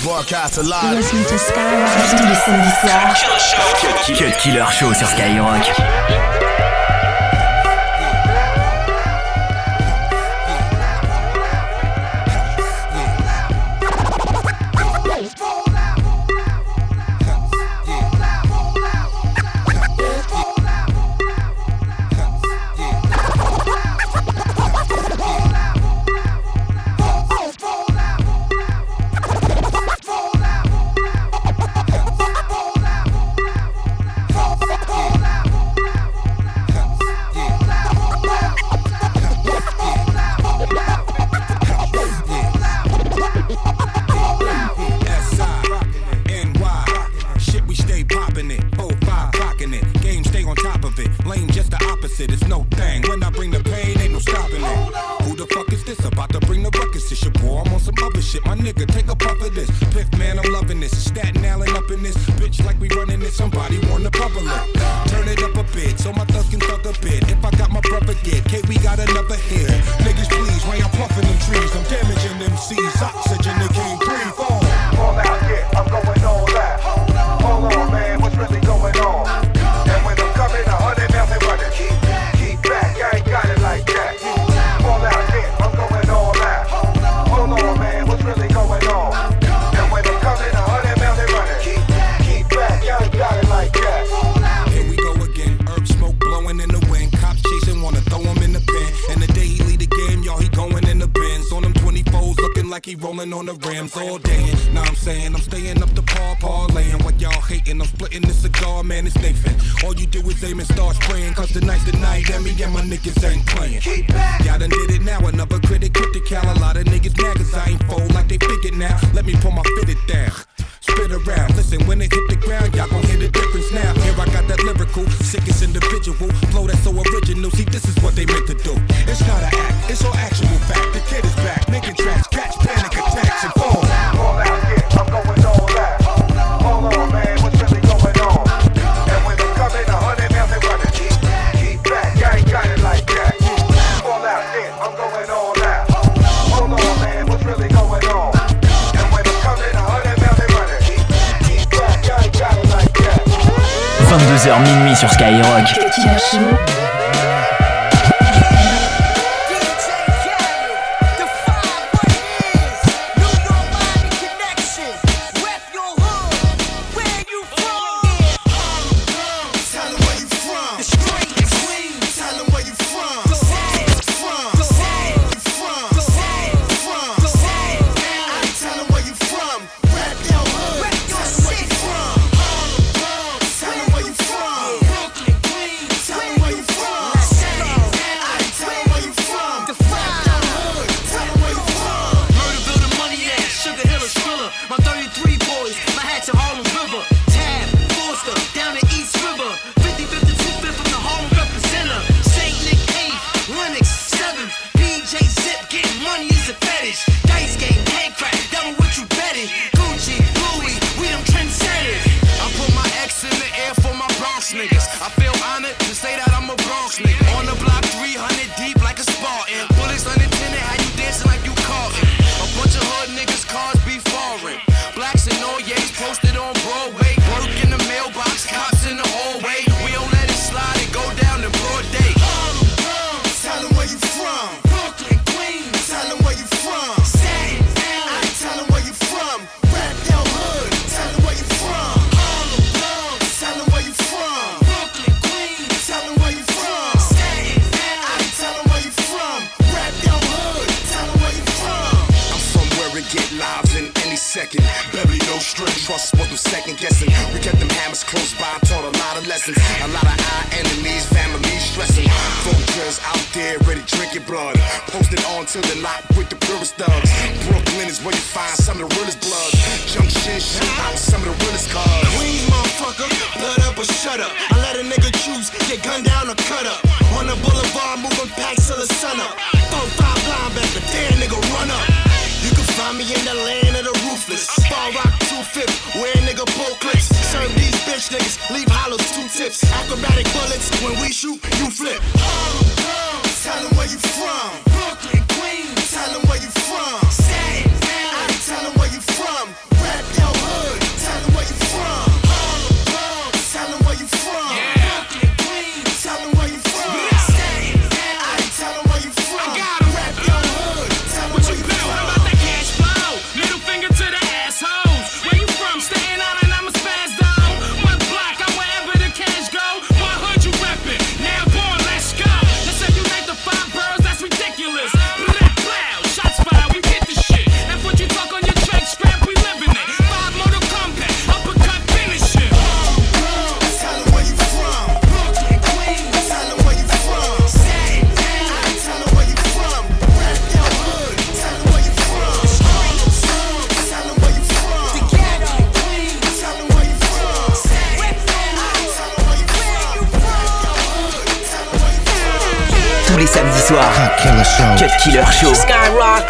Broadcast alive. Listen to Skyrock tous les samedis soirs. Cut Killer Show sur Skyrock. On the rims all day, now I'm saying I'm staying up the parlaying. What y'all hating, I'm splitting this cigar, man, it's Nathan. All you do is aim and start spraying, cause tonight's the night and me and my niggas ain't playing. Y'all done did it now, another critic hit the cal. A lot of niggas mad cause I ain't fold like they figured now. Let me pull my fitted down, spit around, listen, when it hit the ground, y'all gon' hear the difference now. Here I got that lyrical, sickest individual, flow that's so original, see this is what they meant to do. It's not an act, it's all actual fact. The kid is back, making tracks, catch panic attacks and fall. All out, yeah, I'm going all out. Hold on, man, what's really going on? And when I'm coming, 100 miles they running. Keep back, I ain't got it like that. All out, yeah, I'm going all out. Hold on, man, what's really going on? And when I'm coming, 100 miles they running. Keep back, I ain't got it like that. 22h minuit sur Skyrock. Find me in the land of the ruthless. Ball rock 2-5, wear nigga pole clips. Serve these bitch niggas, leave hollows 2 tips. Acrobatic bullets, when we shoot, you flip. Tell them where you from. Brooklyn, Queens. Tell them where you from. Staten Island. Tell them where you from. Rap samedis soirs. Cut Killer Show. Skyrock.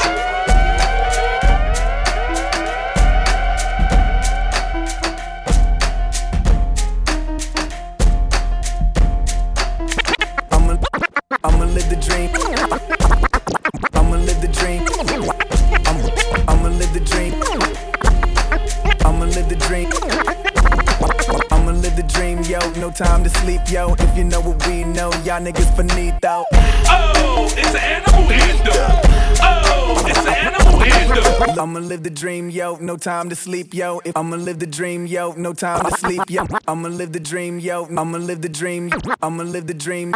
I'ma live the dream. I'ma live the dream. I'ma live the dream. I'ma live the dream. I'ma live the dream, yo. No time to sleep, yo. If you know what we know, y'all niggas finito. Oh, it's an animal anthem. Oh, it's an animal anthem. I'ma live the dream, yo. No time to sleep, yo. If I'ma live the dream, yo. No time to sleep, yo. I'ma live the dream, yo. I'ma live the dream. I'ma live the dream.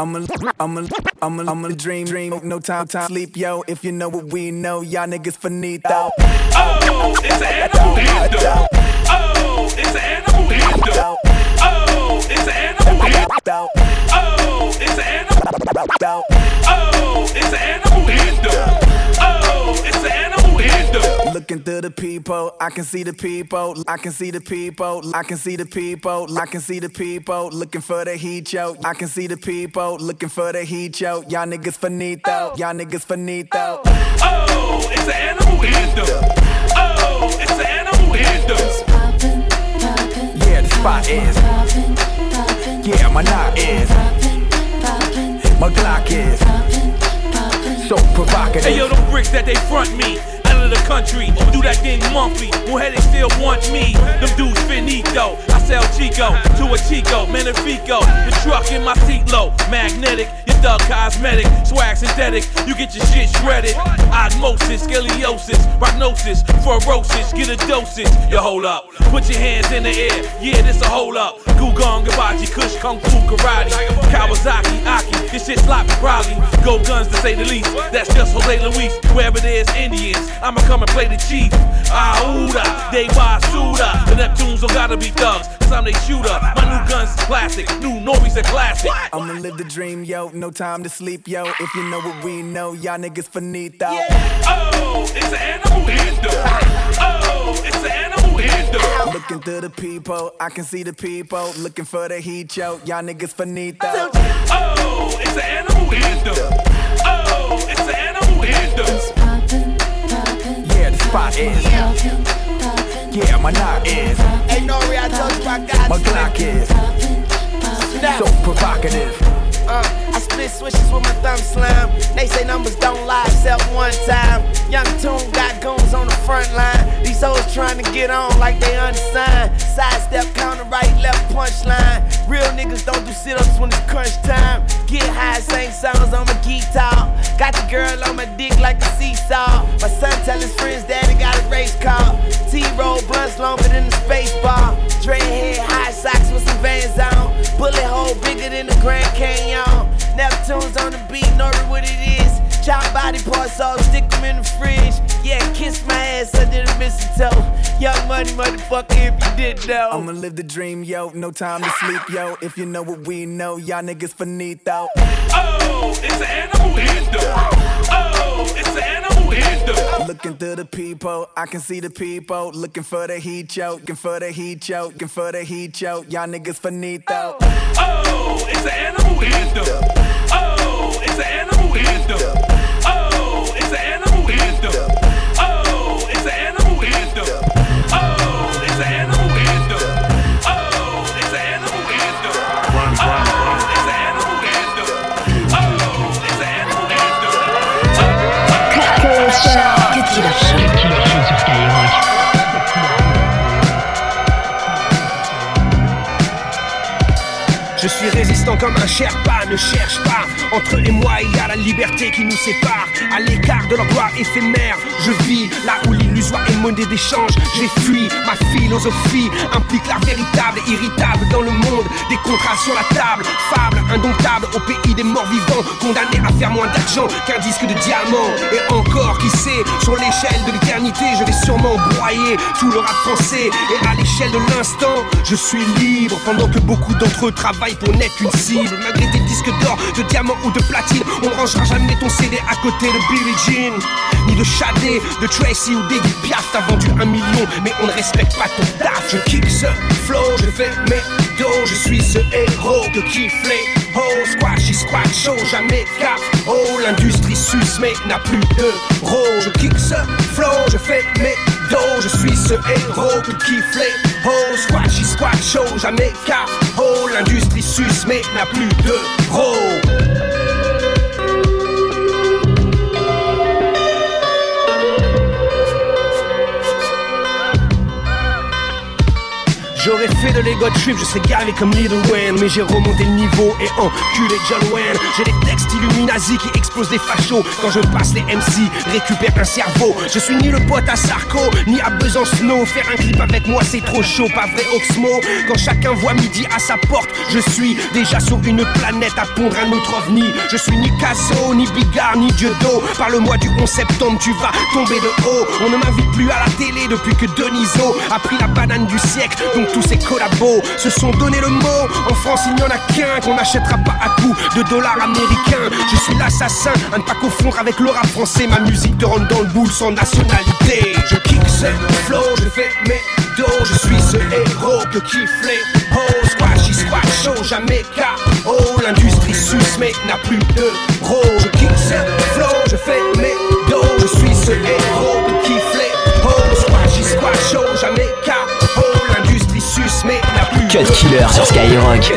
I'ma dream. No time to sleep, yo. If you know what we know, y'all niggas finito. Oh, it's an animal anthem. Oh, it's an animal anthem. Oh, it's an animal anthem. Oh, it's an animal anthem. Oh, it's an animal anthem. Oh, it's an animal anthem. Looking through the people, I can see the people. I can see the people. I can see the people. I can see the people looking for the heat, yo. I can see the people looking for the heat, yo. Y'all niggas finito. Y'all niggas finito. Oh, it's an animal anthem. Oh, it's an animal anthem. Yeah, the spot is. Yeah, my knot is. My Glock is. So provocative. Hey yo, them bricks that they front me out of the country, do that thing monthly. More headaches still want me. Them dudes finito. I sell Chico to a Chico, Magnifico. The truck in my seat low, magnetic. Your thug cosmetic, swag synthetic. You get your shit shredded. Osmosis, scoliosis, prognosis, fluorosis. Get a dosage. You hold up, put your hands in the air. Yeah, this a hold up. Gugong, Gabaji, Kush, Kung Fu, Karate, Kawasaki, Aki. This shit sloppy, probably. Go guns to say the least. That's just Jose Luis. Wherever there's Indians, I'ma come and play the chief. Aouda, they Basuda. The Neptunes don't gotta be thugs, cause I'm they shooter. My new guns is classic, new Norby's a classic. I'ma live the dream, yo. No time to sleep, yo. If you know what we know, y'all niggas finito. Oh, it's an animal anthem. Oh, it's an animal anthem. Looking through the people, I can see the people looking for the heat, yo. Y'all niggas finito. Oh, it's an animal anthem. Oh, it's an animal anthem. Yeah, the spot is. Yeah, my knot is. Hey, Nori, I told you I got My Glock is. So provocative. I split switches with my thumb slam. They say numbers don't lie except one time. Young Toon got goons on the front line. These hoes trying to get on like they unsigned. Sidestep, counter right, left punchline. Real niggas don't do sit-ups when it's crunch time. Get high, sing songs on my guitar. Got the girl on my dick like a seesaw. My son tell his friends daddy got a race car. T-roll blunts longer than the space bar. Dreadhead, high socks with some Vans on. Bullet hole bigger than the Grand Canyon. Neptune's on the beat, know what it is. Chop body parts off, stick them in the fridge. Yeah, kiss my ass under the mistletoe. Young money motherfucker if you didn't know. I'ma live the dream, yo. No time to sleep, yo. If you know what we know, y'all niggas finito. Oh, it's an animal anthem. Oh, it's an animal anthem. Looking through the people, I can see the people looking for the heat, yo. Looking for the heat, yo. Looking for the heat, yo. Y'all niggas finito. Oh, it's an animal anthem. Oh, it's an animal anthem. Oh, it's an animal anthem. Oh, it's an animal anthem. Oh, it's an animal anthem. Oh, it's an animal anthem. Oh, it's an animal anthem. Oh, it's an animal anthem. Que Killer Show sur Skyrock. Je suis résistant comme un Sherpa, ne cherche pas. Entre et moi il y a la liberté qui nous sépare. À l'écart de leur gloire éphémère, je vis là où l'illusoire est monnaie d'échange. J'ai fui, ma philosophie implique la véritable et irritable dans le monde. Des contrats sur la table, fable indomptable au pays des morts vivants. Condamné à faire moins d'argent qu'un disque de diamant. Et encore, qui sait, sur l'échelle de l'éternité je vais sûrement broyer tout le rap français. Et à l'échelle de l'instant, je suis libre. Pendant que beaucoup d'entre eux travaillent pour n'être qu'une cible. Malgré tes disques d'or, de diamant ou de platine, on rangera jamais ton CD à côté de Billie Jean, ni de Shadé, de Tracy ou d'Edith Piaf. T'as vendu 1 million mais on ne respecte pas ton taf. Je kick ce flow, je fais mes dos, je suis ce héros que kiffent les Oh, squash, squat, show, jamais cap. Oh, l'industrie suce mais n'a plus de rôle. Je kick ce flow, je fais mes dos. Je suis ce héros que kiffe les oh, squash, squat, show, jamais cap. Oh, l'industrie suce mais n'a plus de rôle. J'aurais fait de l'ego trip, je serais gavé comme Lil Wayne. Mais j'ai remonté le niveau et enculé John Wayne. J'ai des textes Illuminati qui explosent des fachos. Quand je passe les MC, récupère un cerveau. Je suis ni le pote à Sarko, ni à Besancenot. Faire un clip avec moi c'est trop chaud, pas vrai Oxmo. Quand chacun voit midi à sa porte, je suis déjà sur une planète à pondre un autre ovni. Je suis ni Casso, ni Bigard, ni Dieudo. Parle-moi du 11 septembre, tu vas tomber de haut. On ne m'invite plus à la télé depuis que Deniso a pris la banane du siècle. Donc tous ces collabos se sont donné le mot. En France il n'y en a qu'un qu'on n'achètera pas à coups de dollars américains. Je suis l'assassin, à ne pas confondre avec le rap français. Ma musique te rentre dans le boule sans nationalité. Je kick ce flow, je fais mes dos. Je suis ce héros que kiffent les oh, squash, squat, show, jamais cas. Oh, l'industrie suce mais n'a plus de rôle. Je kick ce flow, je fais mes dos. Je suis ce héros que kiffent les oh, squash, squat, show, jamais cas. Oh, l'industrie suce mais n'a plus de Cut Killer sur Skyrock.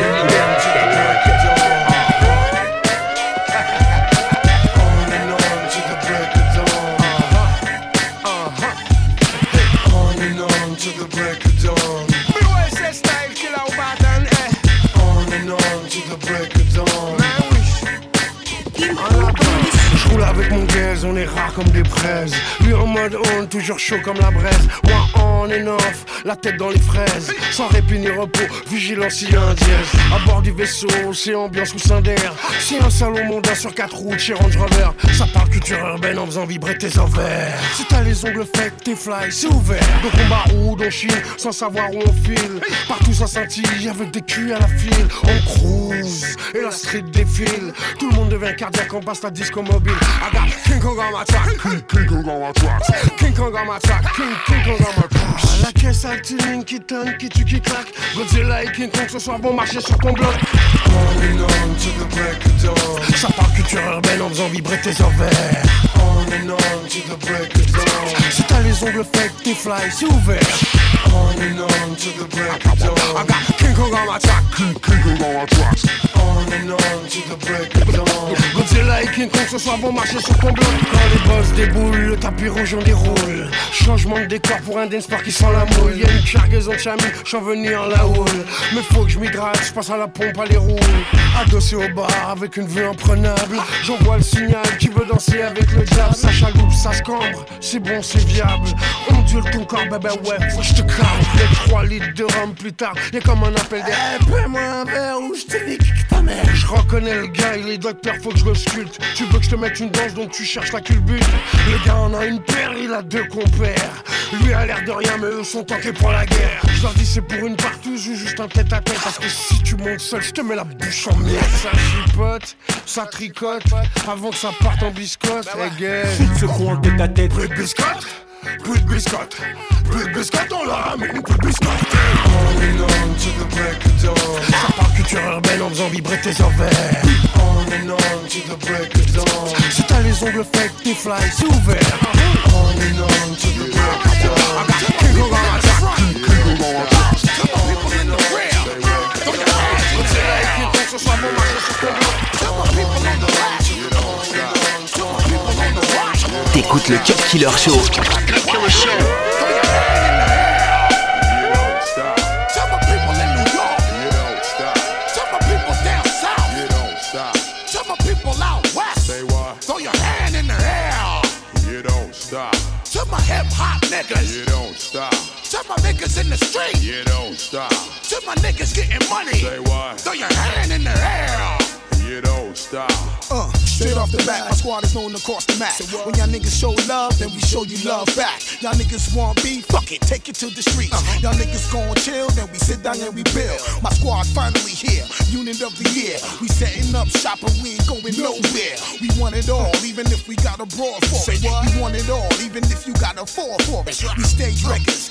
Avec mon gaze, on est rare comme des braises. Lui en mode on, toujours chaud comme la braise. Moi on and off, la tête dans les fraises. Sans répit ni repos, vigilance s'il y a un dièse. À bord du vaisseau, c'est ambiance coussin d'air. C'est un salon mondain sur 4 roues chez Range Rover. Ça parle culture urbaine en faisant vibrer tes ovaires. Si t'as les ongles faits, t'es fly, c'est ouvert. Donc on baroude, on chine, sans savoir où on file. Partout ça scintille, avec des culs à la file. On cruise, et la street défile. Tout le monde devient cardiaque, on passe la disco mobile. I got King Kong on my track, King Kong on my track, King Kong on my track, King Kong on my track. La caisse altine qui tonne, qui tue, qui claque. Godzilla et King Kong ce soir vont marcher sur ton bloc. On and on to the break of dawn. Ça parle culture urbaine en faisant vibrer tes ovaires. On and on to the break of dawn. Si t'as les ongles faits, t'es fly, c'est ouvert. On and on to the break of dawn. I got King Kong on my track, King Kong on my track. On and on to the break of dawn. Godzilla et King Kong ce soir vont marcher sur ton bloc. Quand les boss déboulent, le tapis rouge on déroule. Changement de décor pour un dance park qui sent la moule. Y'a une cargaison de chamis, j'en venais en la houle. Mais faut que je m'hydrate, je passe à la pompe à les roues. Adossé au bar avec une vue imprenable. J'envoie le signal qui veut danser avec le diable. Ça chaloupe, ça se cambre, c'est bon, c'est viable. Ondule ton corps, bébé, ouais, faut que je te calme. Les 3 litres de rhum plus tard, y'a comme un appel d'air. Paie-moi un verre ou je te nique ta mère. Je reconnais le gars, il est docteur, faut que je le sculpte. Tu veux que je te mette une danse, donc tu cherches la culbute. Le gars en a une paire, il a 2 compères. Lui a l'air de rien, mais eux sont tentés pour la guerre. Je leur dis c'est pour une partouze ou juste un tête à tête. Parce que si tu montes seul, je te mets la bouche en miel. Ça chipote, ça tricote, avant que ça parte en biscotte. Hey gars, se croit en tête à tête. plus de biscotte, plus de biscotte, plus de biscotte, on leur ramène plus de biscotte. On and on to the break of dawn. Ça parle culture urbaine en faisant vibrer tes ovaires. On and on to the break of dawn. Si t'as les ongles faits, t'es fly, c'est ouvert. On and on to the break of dawn. I got King Kong on my track, King Kong on my track. Tell my people in the real, throw your hands. Godzilla et King Kong ce soir vont marcher sur ton bloc. Tell my people in the rack, tell my people in the rock. T'écoutes le Cut Killer Show. To my hip-hop niggas, you don't stop. To my niggas in the street, You don't stop. to my niggas getting money, Say what? throw your hand in the air. You don't stop. Straight off the bat, my squad is known across the map. When y'all niggas show love, then we show you love back. Y'all niggas want beef, fuck it, take it to the streets. Y'all niggas gon' chill, then we sit down and we build. My squad finally here, unit of the year. We setting up shop and we ain't going nowhere. We want it all, even if we got a brawl for it. We want it all, even if you got a fall for it. We stage records, 50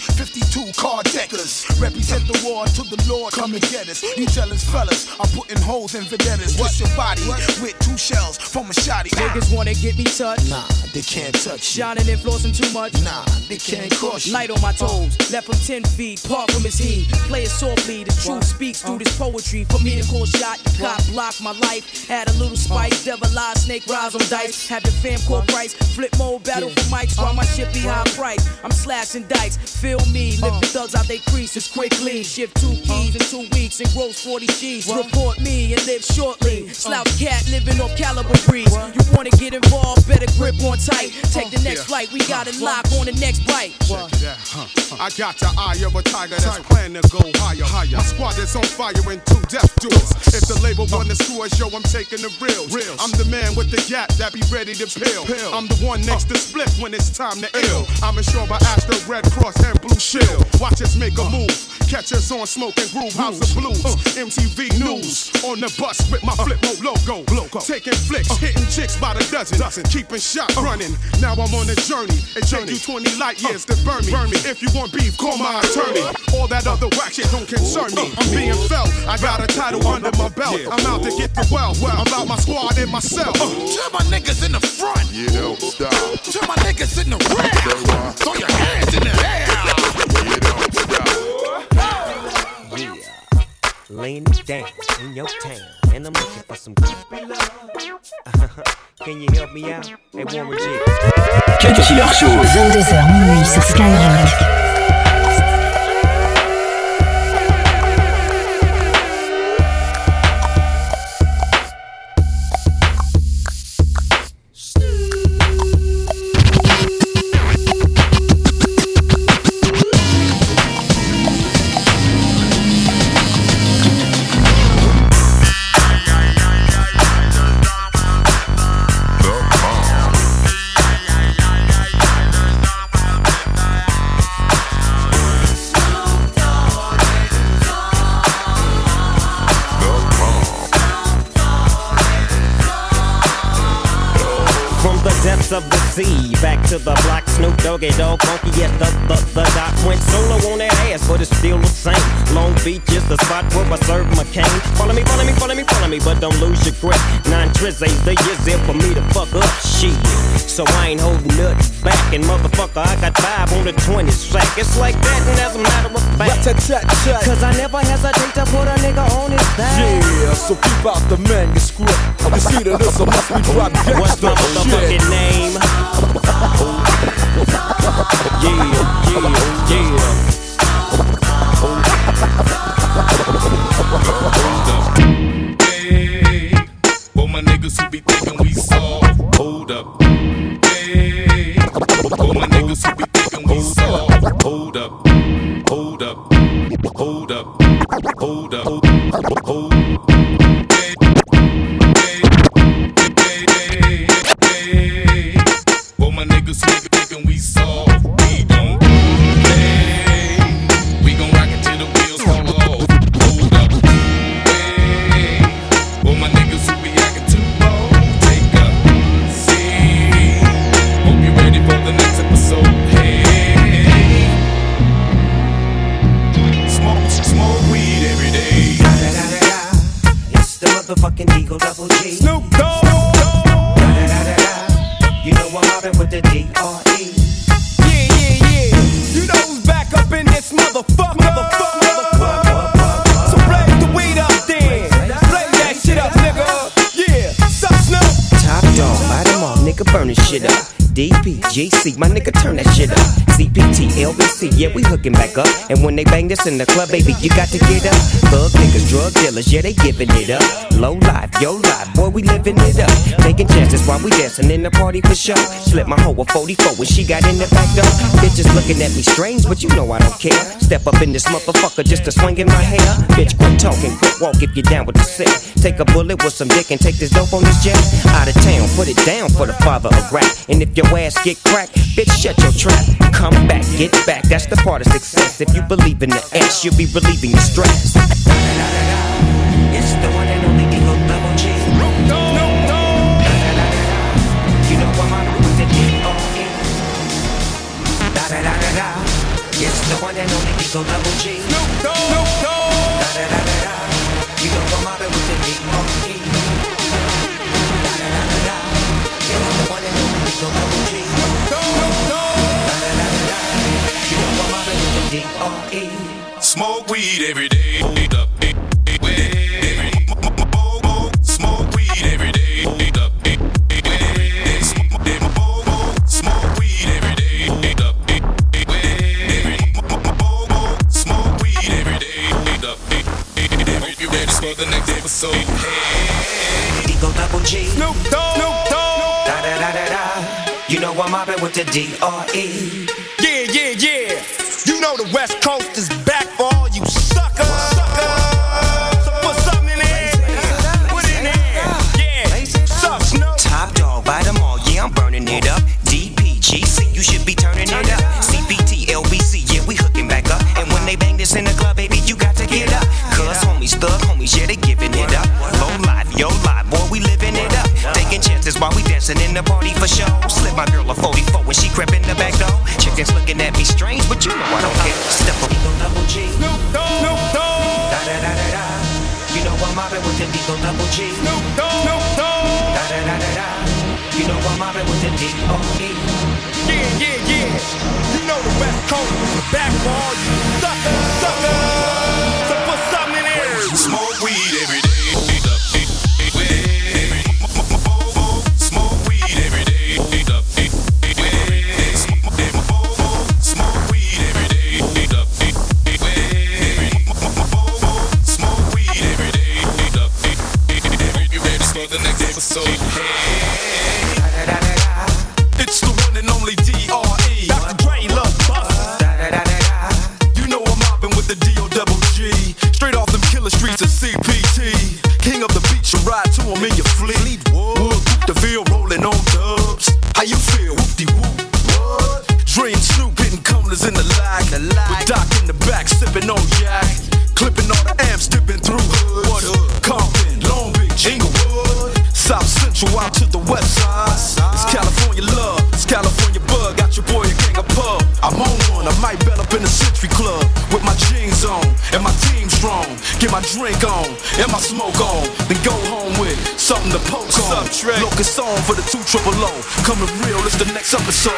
two card deckers. Represent the war to the Lord, come and get us. You jealous fellas are putting holes in vendettas. What's your body with two shells from a shotty? Niggas wanna get me touched? Nah, they can't touch you. Shining and flossing too much? Nah, they can't cross you. Light on my toes, left from 10 feet, part from his heat. Play it softly, the truth speaks through this poetry. For me to call shot, cop block my life. Had a little spice, devil eye, snake rise on dice. Had the fam call price, flip mode, battle for mics while my shit be high price. I'm slashing dice, feel me, lift the thugs out they creases quickly. Shift 2 keys in 2 weeks and gross 40 G's. Report me and live shortly. Slouch cat living off caliber breeze. You wanna get involved, better grip on tight. Take the next flight, we got it locked on the next bite. I got the eye of a tiger that's planning to go higher. My squad is on fire and 2 death duels. If the label wanna screw us, yo, I'm taking the reels. I'm the man with the gap that be ready to peel. I'm the one next to split when it's time to ill. I'm insured by Astro, Red Cross, and Blue Shield. Watch us make a move. Catch us on Smoke and Groove, House of Blues, MTV News. On the bus with my Flip Mode logo. Taking flicks, hitting chicks by the dozen. Keeping shot running. Now I'm on a journey. It take you 20 light years to burn me. If you want beef, call my attorney. All that other whack shit don't concern me. I'm being felt. I got a title under my belt. I'm out to get the wealth. I'm about my squad and myself. Tell my niggas in the front. You don't stop. Tell my niggas in the rear. Throw your hands in the air. You don't stop. Yeah, laying it down in your town, and I'm looking for some good love. Can you help me out? Hey, Warren G. Cut Killer Show. 22h minuit sur Skyrock. Of the sea, back to the block, Snoop Doggy Dogg, funky, yes, the doc went solo on that ass, but it's still the same. Long Beach is the spot where I serve my cane. Follow me, but don't lose your grip. 9 trizzies, the years there for me to fuck up shit. So I ain't holding nothing back, and motherfucker, I got 5 on the 20 sack. It's like that, and as a matter of fact, cause I never hesitate to put a nigga on his back. Yeah, so keep out the manuscript. I can see that this must be drop gangsta. What's my motherfucking name? Hey, for my niggas who be thinking we soft, hold up. Hey, for my niggas who be thinking we soft, hold up. Hold up, hold up, hold up, hold up. For my niggas who thinking we soft, we don't play. We gon' rock it till the wheels fall off. Hold up, hey. For my niggas who be acting too bold, take a seat. Hope you're ready for the next episode. Hey, smoke weed every day. It's the motherfucking Eagle Double G. Snoop Dogg. You know I'm mobbing with the D.R.E. Yeah. You know who's back up in this motherfucker. So blaze the weed up then. Blaze that shit up, nigga. Yeah, sup, Snoop? Top dog, light 'em all, nigga, burn this shit up. DPGC, my nigga, turn that shit up. CPT, LBC, yeah, we hooking back up. And when they bang this in the club, baby, you got to get up. Thug niggas, drug dealers, yeah, they giving it up. Low life, yo life, boy, we living it up. Taking chances while we dancing in the party for sure. Slip my hoe a 44 when she got in the back door. Bitches looking at me strange, but you know I don't care. Step up in this motherfucker just to swing in my hair. Bitch, quit talking, quit walk if you're down with the sick. Take a bullet with some dick and take this dope on this jet. Out of town, put it down for the father of rap. And if your ass get cracked, bitch, shut your trap. Come back, get back, that's the part of success. If you believe in the ass, you'll be relieving your stress. It's the one and only Eagle Double G. You know I'm on with the D.R.E. It's the one and only Eagle Double G. Snoop Dogg. Da da da da da. You know I'm mobbing with the D.R.E. Da da da da da. Yeah, I'm the one and only Eagle Double G. Da da da da da. You know I'm mobbing with the D.R.E. Smoke weed every day. Smoke weed every day. Smoke weed every day. Smoke weed every day. Hope you ready for the next episode. Hey. Eagle Double G. Snoop Dogg. Da da da da da. You know I'm mobbing with the D.R.E. Yeah. You know the West Coast is back for all you suckers. So put something in there. Put it in there. Yeah. Suck, Snoop. Top dog by them all, yeah, I'm burning it up. DPGC, you should be turning it up. CPT, LBC, yeah, we hooking back up. And when they bang this in the club, baby, you got to get up. Cuz homies, thug homies, yeah, they giving it up. Low life, yo life, boy, we living it up. Taking chances while we dancing in the party for show. Slip my girl a 44 when she crept in the back door. Chickens looking at me strange, but you know I don't care. Step up, Eagle Double G. Snoop Dogg. Da da da da da. You know I'm mobbing with the Eagle Double G. Snoop Dogg. Da da da da da. You know I'm mobbing with the D.R.E. Yeah. You know the West Coast is back for all you suckers. So put something in there. Smoke weed every day. Smoke weed every day. Smoke weed every day. Smoke weed every day. Hope you ready for the next episode. Hey. It's the one and only D.R.E. Dr. Dre, Lil Busta. You know I'm mobbing with the D.O.G. Straight off them killer streets of CPT. King of the beach, you ride to him in your fleet. Wood, the Ville rolling on dubs. How you feel? Whoop-de-whoop. What? Dre and Snoop hitting cumblers in the lag. With Doc in the back, sipping on yak. Clipping all the amps, dipping through hoods. What hood? Compton, Long Beach, Inglewood. South Central out to the west side. It's California love, it's California bug. Got your boy a gang of pub. I'm on one, I might bet up in the Century Club. With my jeans on, and my team strong. Get my drink on, and my smoke on. Then go home with something to poke on. Locust song for the 200. Coming real, it's the next episode.